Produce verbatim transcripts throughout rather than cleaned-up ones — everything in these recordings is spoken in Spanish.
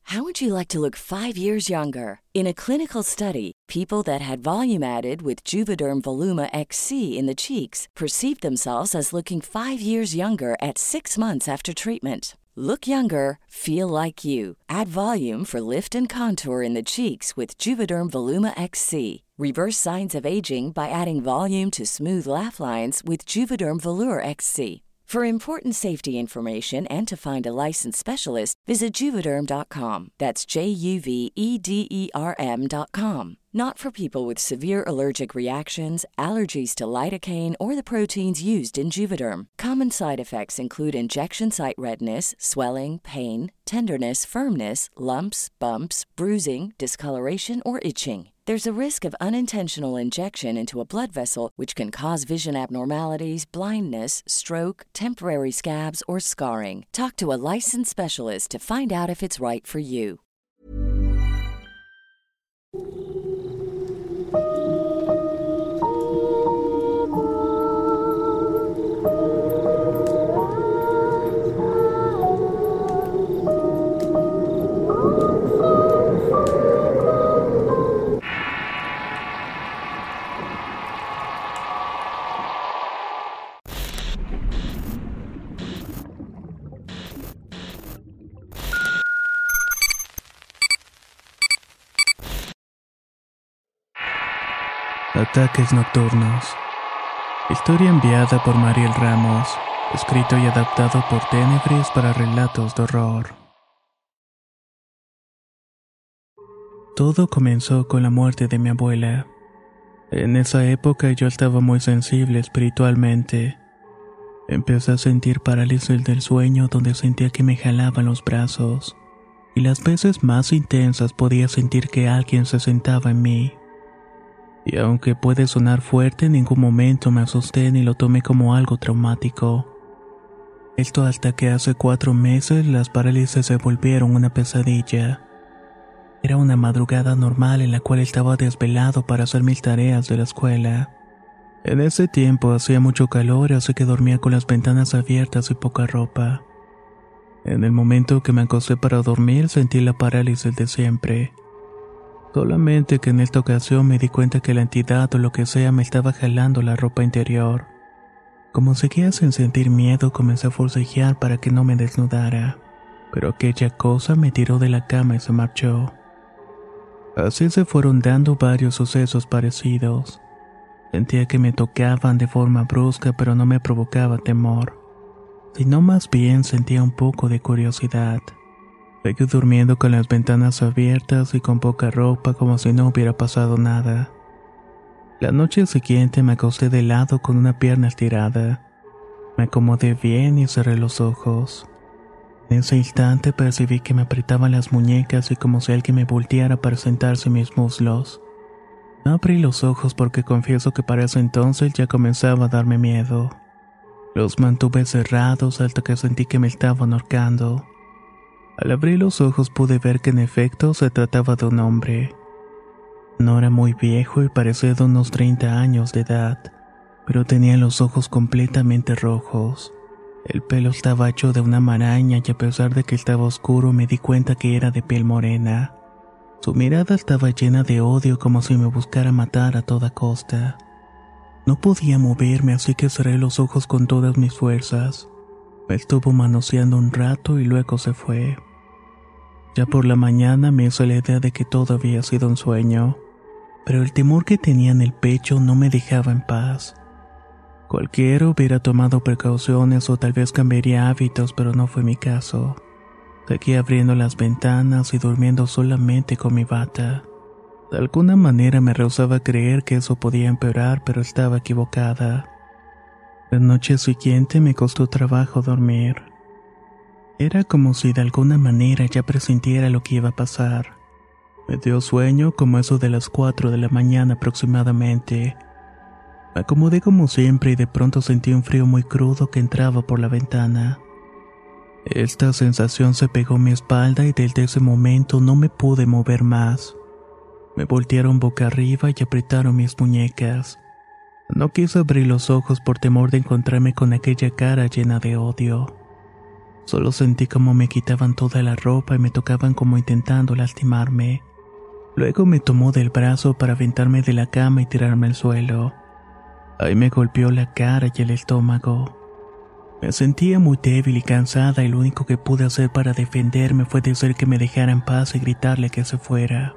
How would you like to look five years younger? In a clinical study, people that had volume added with Juvederm Voluma X C in the cheeks perceived themselves as looking five years younger at six months after treatment. Look younger, feel like you. Add volume for lift and contour in the cheeks with Juvederm Voluma X C. Reverse signs of aging by adding volume to smooth laugh lines with Juvederm Volure X C. For important safety information and to find a licensed specialist, visit Juvederm dot com. That's J U V E D E R M dot com. Not for people with severe allergic reactions, allergies to lidocaine, or the proteins used in Juvederm. Common side effects include injection site redness, swelling, pain, tenderness, firmness, lumps, bumps, bruising, discoloration, or itching. There's a risk of unintentional injection into a blood vessel, which can cause vision abnormalities, blindness, stroke, temporary scabs, or scarring. Talk to a licensed specialist to find out if it's right for you. Ataques nocturnos. Historia enviada por Mariel Ramos, escrito y adaptado por Tenebris para relatos de horror. Todo comenzó con la muerte de mi abuela. En esa época yo estaba muy sensible espiritualmente. Empecé a sentir parálisis del sueño donde sentía que me jalaban los brazos, y las veces más intensas podía sentir que alguien se sentaba en mí. Y aunque puede sonar fuerte, en ningún momento me asusté ni lo tomé como algo traumático. Esto hasta que hace cuatro meses las parálisis se volvieron una pesadilla. Era una madrugada normal en la cual estaba desvelado para hacer mis tareas de la escuela. En ese tiempo hacía mucho calor, así que dormía con las ventanas abiertas y poca ropa. En el momento que me acosté para dormir sentí la parálisis de siempre. Solamente que en esta ocasión me di cuenta que la entidad o lo que sea me estaba jalando la ropa interior. Como seguía sin sentir miedo, comencé a forcejear para que no me desnudara, pero aquella cosa me tiró de la cama y se marchó. Así se fueron dando varios sucesos parecidos. Sentía que me tocaban de forma brusca, pero no me provocaba temor, sino más bien sentía un poco de curiosidad. Seguí durmiendo con las ventanas abiertas y con poca ropa como si no hubiera pasado nada. La noche siguiente me acosté de lado con una pierna estirada. Me acomodé bien y cerré los ojos. En ese instante percibí que me apretaban las muñecas y como si alguien me volteara para sentarse en mis muslos. No abrí los ojos porque confieso que para ese entonces ya comenzaba a darme miedo. Los mantuve cerrados hasta que sentí que me estaban ahorcando. Al abrir los ojos pude ver que en efecto se trataba de un hombre. No era muy viejo y parecía de unos treinta años de edad, pero tenía los ojos completamente rojos. El pelo estaba hecho de una maraña y a pesar de que estaba oscuro me di cuenta que era de piel morena. Su mirada estaba llena de odio como si me buscara matar a toda costa. No podía moverme así que cerré los ojos con todas mis fuerzas. Me estuvo manoseando un rato y luego se fue. Ya por la mañana me hizo la idea de que todo había sido un sueño, pero el temor que tenía en el pecho no me dejaba en paz. Cualquiera hubiera tomado precauciones o tal vez cambiaría hábitos, pero no fue mi caso. Seguí abriendo las ventanas y durmiendo solamente con mi bata. De alguna manera me rehusaba a creer que eso podía empeorar, pero estaba equivocada. La noche siguiente me costó trabajo dormir. Era como si de alguna manera ya presintiera lo que iba a pasar. Me dio sueño como eso de las cuatro de la mañana aproximadamente. Me acomodé como siempre y de pronto sentí un frío muy crudo que entraba por la ventana. Esta sensación se pegó a mi espalda y desde ese momento no me pude mover más. Me voltearon boca arriba y apretaron mis muñecas. No quise abrir los ojos por temor de encontrarme con aquella cara llena de odio. Solo sentí como me quitaban toda la ropa y me tocaban como intentando lastimarme. Luego me tomó del brazo para aventarme de la cama y tirarme al suelo. Ahí me golpeó la cara y el estómago. Me sentía muy débil y cansada y lo único que pude hacer para defenderme fue decir que me dejara en paz y gritarle que se fuera.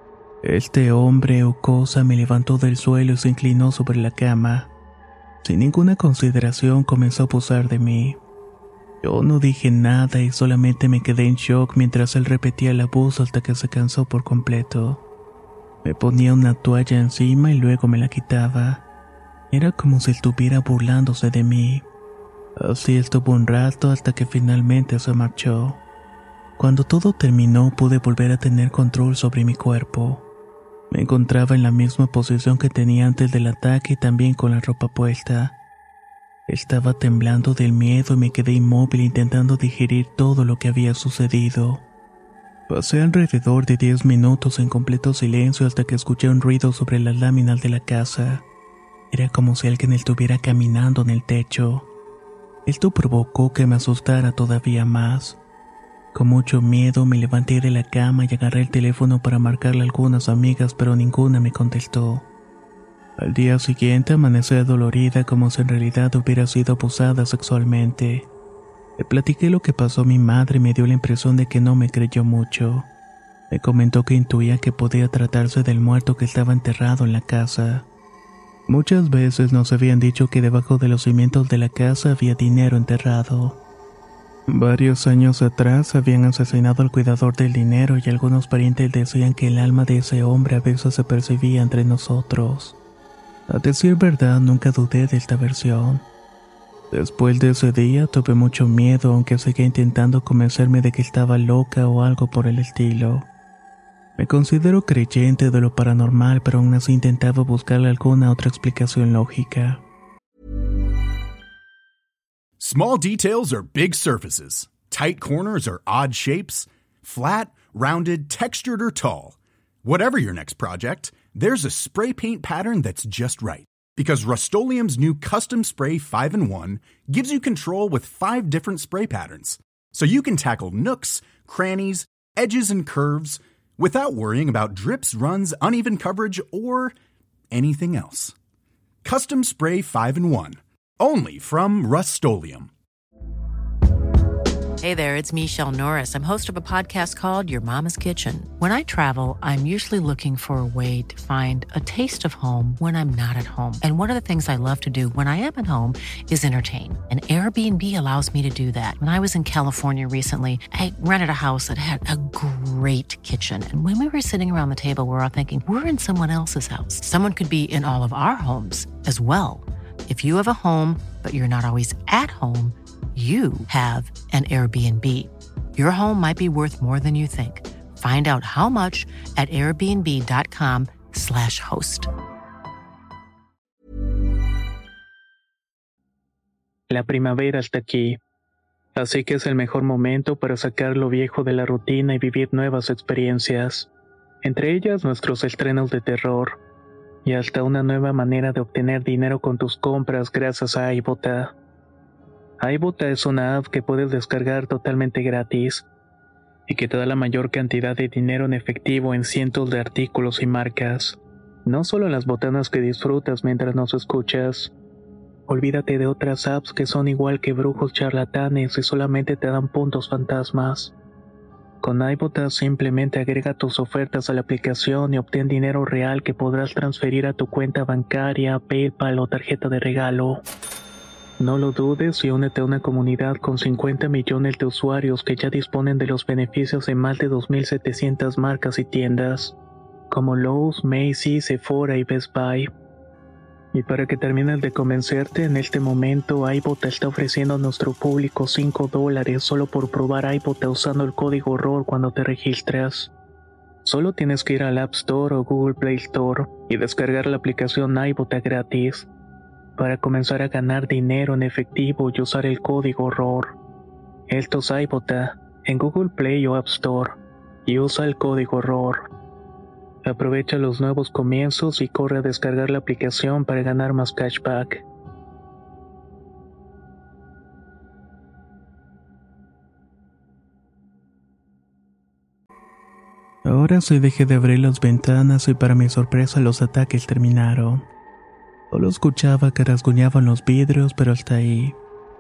Este hombre o cosa me levantó del suelo y se inclinó sobre la cama. Sin ninguna consideración comenzó a abusar de mí. Yo no dije nada y solamente me quedé en shock mientras él repetía el abuso hasta que se cansó por completo. Me ponía una toalla encima y luego me la quitaba. Era como si estuviera burlándose de mí. Así estuvo un rato hasta que finalmente se marchó. Cuando todo terminó pude volver a tener control sobre mi cuerpo. Me encontraba en la misma posición que tenía antes del ataque y también con la ropa puesta. Estaba temblando del miedo y me quedé inmóvil intentando digerir todo lo que había sucedido. Pasé alrededor de diez minutos en completo silencio hasta que escuché un ruido sobre las láminas de la casa. Era como si alguien estuviera caminando en el techo. Esto provocó que me asustara todavía más. Con mucho miedo me levanté de la cama y agarré el teléfono para marcarle a algunas amigas, pero ninguna me contestó. Al día siguiente amanecí dolorida como si en realidad hubiera sido abusada sexualmente. Le platiqué lo que pasó a mi madre y me dio la impresión de que no me creyó mucho. Me comentó que intuía que podía tratarse del muerto que estaba enterrado en la casa. Muchas veces nos habían dicho que debajo de los cimientos de la casa había dinero enterrado. Varios años atrás habían asesinado al cuidador del dinero y algunos parientes decían que el alma de ese hombre a veces se percibía entre nosotros. A decir verdad, nunca dudé de esta versión. Después de ese día tuve mucho miedo, aunque seguía intentando convencerme de que estaba loca o algo por el estilo. Me considero creyente de lo paranormal, pero aún así intentaba buscarle alguna otra explicación lógica. Small details are big surfaces. Tight corners are odd shapes. Flat, rounded, textured, or tall. Whatever your next project, there's a spray paint pattern that's just right. Because Rust-Oleum's new Custom Spray five in one gives you control with five different spray patterns. So you can tackle nooks, crannies, edges, and curves without worrying about drips, runs, uneven coverage, or anything else. Custom Spray five in one. Only from Rust-Oleum. Hey there, it's Michelle Norris. I'm host of a podcast called Your Mama's Kitchen. When I travel, I'm usually looking for a way to find a taste of home when I'm not at home. And one of the things I love to do when I am at home is entertain. And Airbnb allows me to do that. When I was in California recently, I rented a house that had a great kitchen. And when we were sitting around the table, we were all thinking, we're in someone else's house. Someone could be in all of our homes as well. If you have a home, but you're not always at home, you have an Airbnb. Your home might be worth more than you think. Find out how much at airbnb.com slash host. La primavera está aquí, así que es el mejor momento para sacar lo viejo de la rutina y vivir nuevas experiencias. Entre ellas nuestros estrenos de terror. Y hasta una nueva manera de obtener dinero con tus compras gracias a iBota. iBota es una app que puedes descargar totalmente gratis y que te da la mayor cantidad de dinero en efectivo en cientos de artículos y marcas. No solo en las botanas que disfrutas mientras nos escuchas. Olvídate de otras apps que son igual que brujos charlatanes y solamente te dan puntos fantasmas. Con iBota simplemente agrega tus ofertas a la aplicación y obtén dinero real que podrás transferir a tu cuenta bancaria, PayPal o tarjeta de regalo. No lo dudes y únete a una comunidad con cincuenta millones de usuarios que ya disponen de los beneficios de más de dos mil setecientas marcas y tiendas, como Lowe's, Macy's, Sephora y Best Buy. Y para que termines de convencerte, en este momento iBota está ofreciendo a nuestro público cinco dólares solo por probar iBota usando el código horror cuando te registras. Solo tienes que ir al App Store o Google Play Store y descargar la aplicación iBota gratis para comenzar a ganar dinero en efectivo y usar el código horror. Esto es iBota en Google Play o App Store y usa el código horror. Aprovecha los nuevos comienzos y corre a descargar la aplicación para ganar más cashback. Ahora sí dejé de abrir las ventanas y para mi sorpresa los ataques terminaron. Solo escuchaba que rasguñaban los vidrios, pero hasta ahí.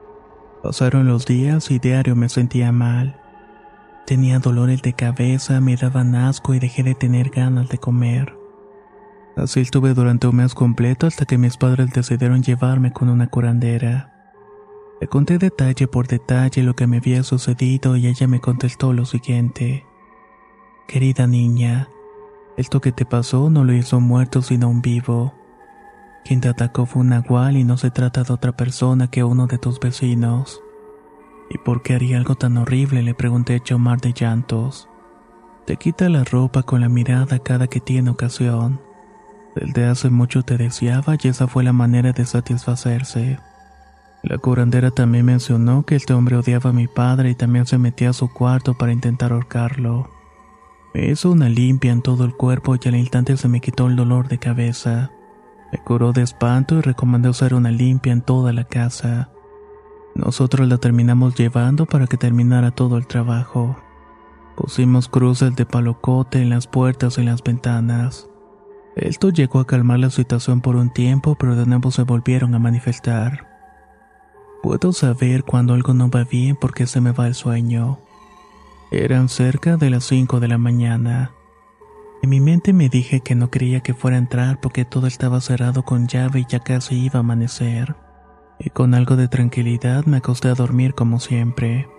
Pasaron los días y diario me sentía mal. Tenía dolores de cabeza, me daban asco y dejé de tener ganas de comer. Así estuve durante un mes completo hasta que mis padres decidieron llevarme con una curandera. Le conté detalle por detalle lo que me había sucedido y ella me contestó lo siguiente. Querida niña, esto que te pasó no lo hizo un muerto sino un vivo. Quien te atacó fue un nahual y no se trata de otra persona que uno de tus vecinos. ¿Y por qué haría algo tan horrible?, le pregunté hecho un mar de llantos. Te quita la ropa con la mirada cada que tiene ocasión. Desde hace mucho te deseaba y esa fue la manera de satisfacerse. La curandera también mencionó que este hombre odiaba a mi padre y también se metía a su cuarto para intentar ahorcarlo. Me hizo una limpia en todo el cuerpo y al instante se me quitó el dolor de cabeza. Me curó de espanto y recomendó hacer una limpia en toda la casa. Nosotros la terminamos llevando para que terminara todo el trabajo. Pusimos cruces de palocote en las puertas y en las ventanas. Esto llegó a calmar la situación por un tiempo, pero de nuevo se volvieron a manifestar. Puedo saber cuando algo no va bien porque se me va el sueño. Eran cerca de las cinco de la mañana. En mi mente me dije que no quería que fuera a entrar porque todo estaba cerrado con llave y ya casi iba a amanecer. Y con algo de tranquilidad me acosté a dormir como siempre.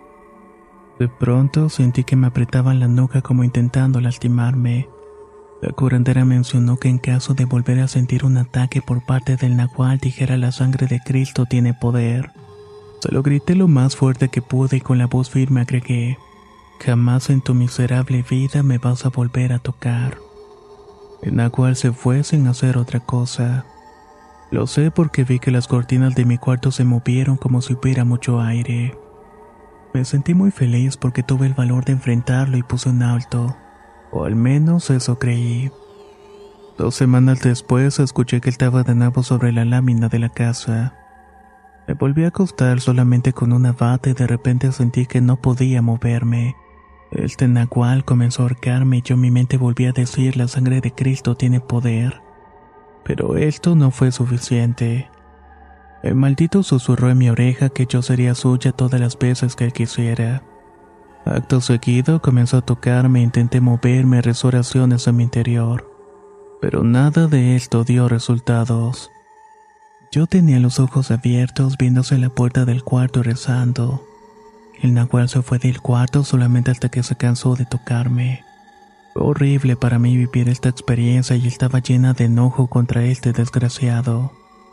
De pronto sentí que me apretaban la nuca como intentando lastimarme. La curandera mencionó que en caso de volver a sentir un ataque por parte del nahual dijera la sangre de Cristo tiene poder. Se lo grité lo más fuerte que pude y con la voz firme agregué: jamás en tu miserable vida me vas a volver a tocar. El nahual se fue sin hacer otra cosa. Lo sé porque vi que las cortinas de mi cuarto se movieron como si hubiera mucho aire. Me sentí muy feliz porque tuve el valor de enfrentarlo y puse un alto. O al menos eso creí. Dos semanas después escuché que estaba de nuevo sobre la lámina de la casa. Me volví a acostar solamente con una bata y de repente sentí que no podía moverme. El nahual comenzó a ahorcarme y yo en mi mente volví a decir la sangre de Cristo tiene poder. Pero esto no fue suficiente. El maldito susurró en mi oreja que yo sería suya todas las veces que él quisiera. Acto seguido comenzó a tocarme e intenté moverme, rezó oraciones en mi interior. Pero nada de esto dio resultados. Yo tenía los ojos abiertos viéndose la puerta del cuarto y rezando. El nahual se fue del cuarto solamente hasta que se cansó de tocarme. Fue horrible para mí vivir esta experiencia y estaba llena de enojo contra este desgraciado.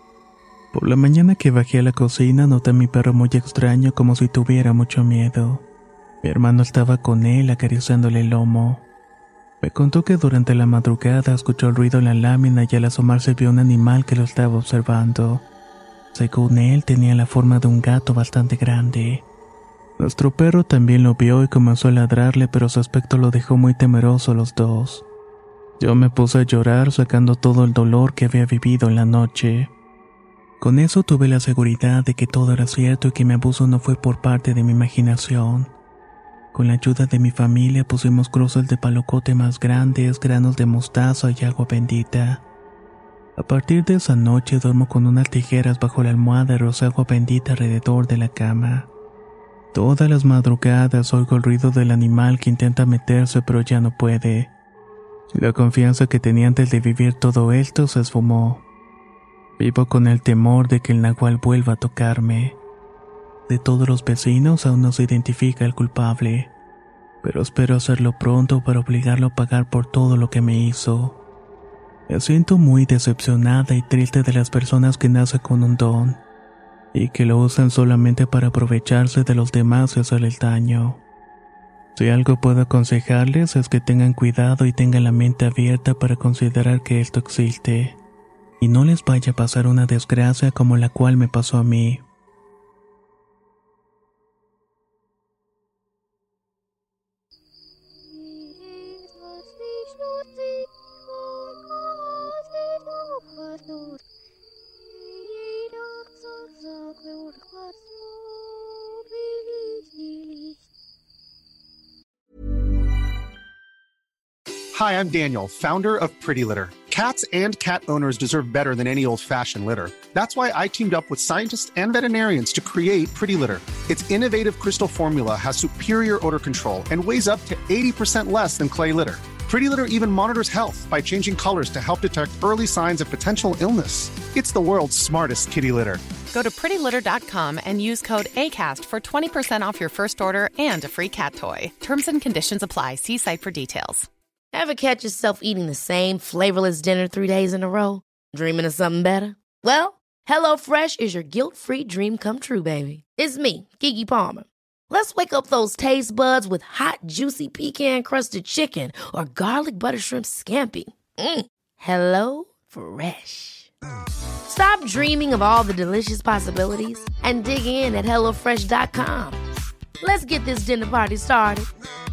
Por la mañana que bajé a la cocina noté a mi perro muy extraño como si tuviera mucho miedo. Mi hermano estaba con él acariciándole el lomo. Me contó que durante la madrugada escuchó el ruido en la lámina y al asomarse vio un animal que lo estaba observando. Según él tenía la forma de un gato bastante grande. Nuestro perro también lo vio y comenzó a ladrarle, pero su aspecto lo dejó muy temeroso a los dos. Yo me puse a llorar sacando todo el dolor que había vivido en la noche. Con eso tuve la seguridad de que todo era cierto y que mi abuso no fue por parte de mi imaginación. Con la ayuda de mi familia pusimos cruces de palocote más grandes, granos de mostaza y agua bendita. A partir de esa noche duermo con unas tijeras bajo la almohada y rozo agua bendita alrededor de la cama. Todas las madrugadas oigo el ruido del animal que intenta meterse pero ya no puede. La confianza que tenía antes de vivir todo esto se esfumó. Vivo con el temor de que el nahual vuelva a tocarme. De todos los vecinos aún no se identifica el culpable, pero espero hacerlo pronto para obligarlo a pagar por todo lo que me hizo. Me siento muy decepcionada y triste de las personas que nacen con un don y que lo usan solamente para aprovecharse de los demás y hacerles daño. Si algo puedo aconsejarles es que tengan cuidado y tengan la mente abierta para considerar que esto existe, y no les vaya a pasar una desgracia como la cual me pasó a mí. Hi, I'm Daniel, founder of Pretty Litter. Cats and cat owners deserve better than any old-fashioned litter. That's why I teamed up with scientists and veterinarians to create Pretty Litter. Its innovative crystal formula has superior odor control and weighs up to eighty percent less than clay litter. Pretty Litter even monitors health by changing colors to help detect early signs of potential illness. It's the world's smartest kitty litter. Go to pretty litter dot com and use code ACAST for twenty percent off your first order and a free cat toy. Terms and conditions apply. See site for details. Ever catch yourself eating the same flavorless dinner three days in a row? Dreaming of something better? Well, HelloFresh is your guilt-free dream come true, baby. It's me, Keke Palmer. Let's wake up those taste buds with hot, juicy pecan-crusted chicken or garlic butter shrimp scampi. Mm. Hello Fresh. Stop dreaming of all the delicious possibilities and dig in at hello fresh dot com. Let's get this dinner party started.